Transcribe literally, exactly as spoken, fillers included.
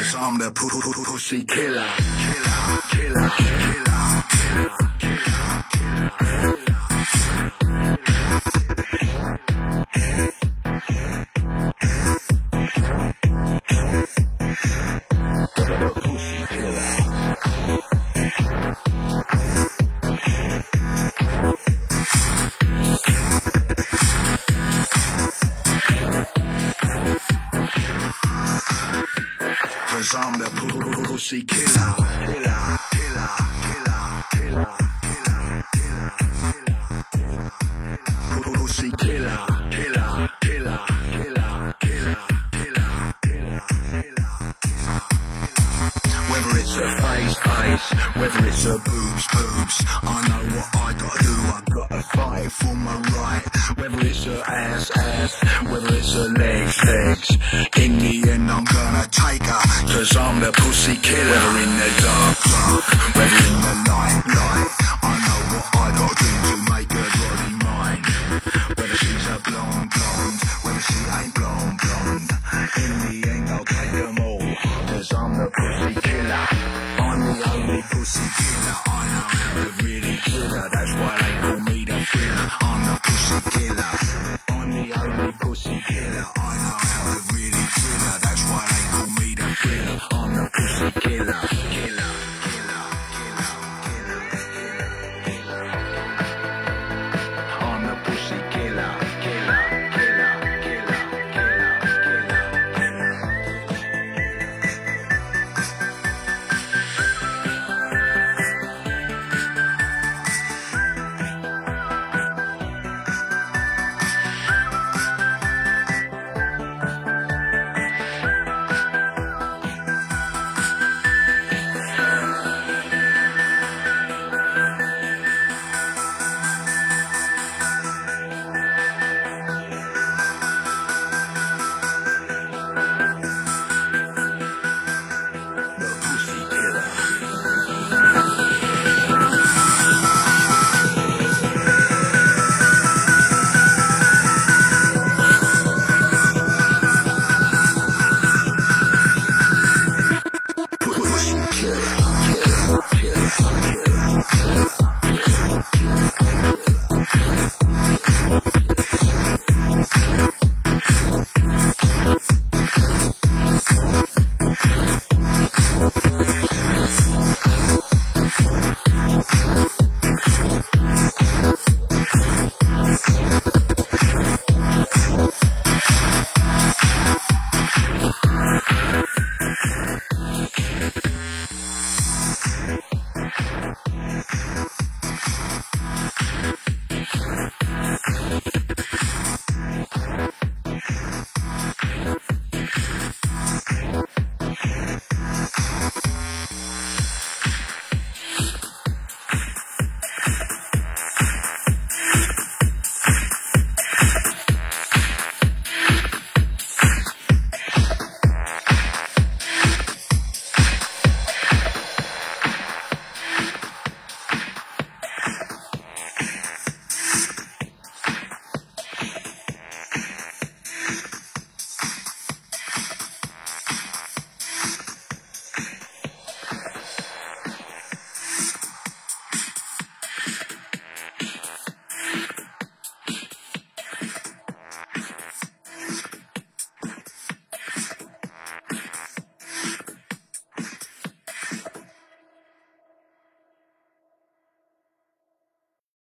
Cause I'm the pussy killer, killer, killer, killer, killer, killer, killer. Cause I'm the pussy killer, killer, killer, killer, killer, killer, killer, killer, pussy killer, killer, killer, killer, killer, killer, killer, killer. Whether it's a face, face, whether it's a boobs, boobs, I know what I gotta do, I gotta fight for my right. Whether it's a ass, ass, whether it's a legs, legs, in the end I'm gonna take her. Cause I'm the pussy killer. Whether in the dark, dark, whether in the light, light, I know what I gotta do to